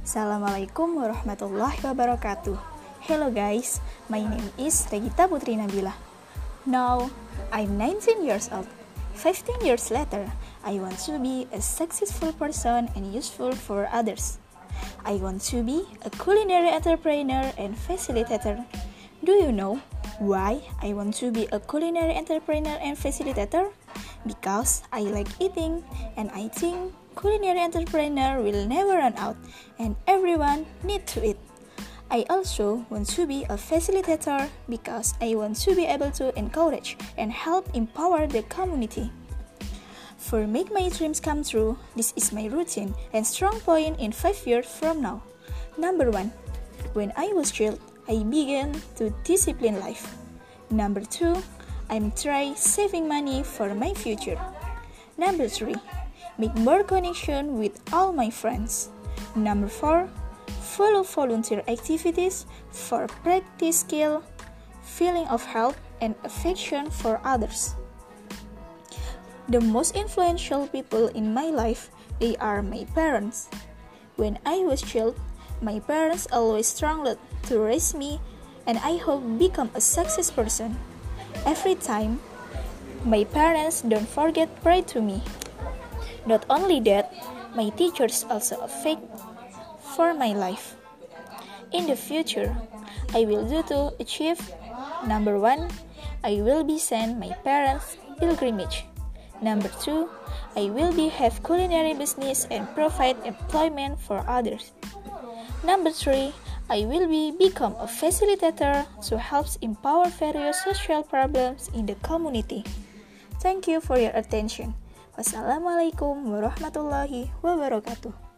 Assalamualaikum warahmatullahi wabarakatuh. Hello guys, my name is Regita Putri Nabila. Now, I'm 19 years old. 15 years later, I want to be a successful person and useful for others. I want to be a culinary entrepreneur and facilitator. Do you know why I want to be a culinary entrepreneur and facilitator? Because I like eating, and I think culinary entrepreneur will never run out, and everyone need to eat. I also want to be a facilitator because I want to be able to encourage and help empower the community. For make my dreams come true, this is my routine and strong point in 5 years from now. Number 1. When I was child, I began to discipline life. Number 2. I'm try saving money for my future. Number 3. Make more connection with all my friends. Number 4. Follow volunteer activities for practice skill, feeling of help, and affection for others. The most influential people in my life, they are my parents. When I was child, my parents always struggled to raise me, and I hope become a success person. Every time, my parents don't forget pray to me. Not only that, my teachers also affect for my life. In the future, I will do to achieve. Number 1, I will be send my parents pilgrimage. Number 2, I will be have culinary business and provide employment for others. Number 3, I will become a facilitator to help empower various social problems in the community. Thank you for your attention. Wassalamualaikum warahmatullahi wabarakatuh.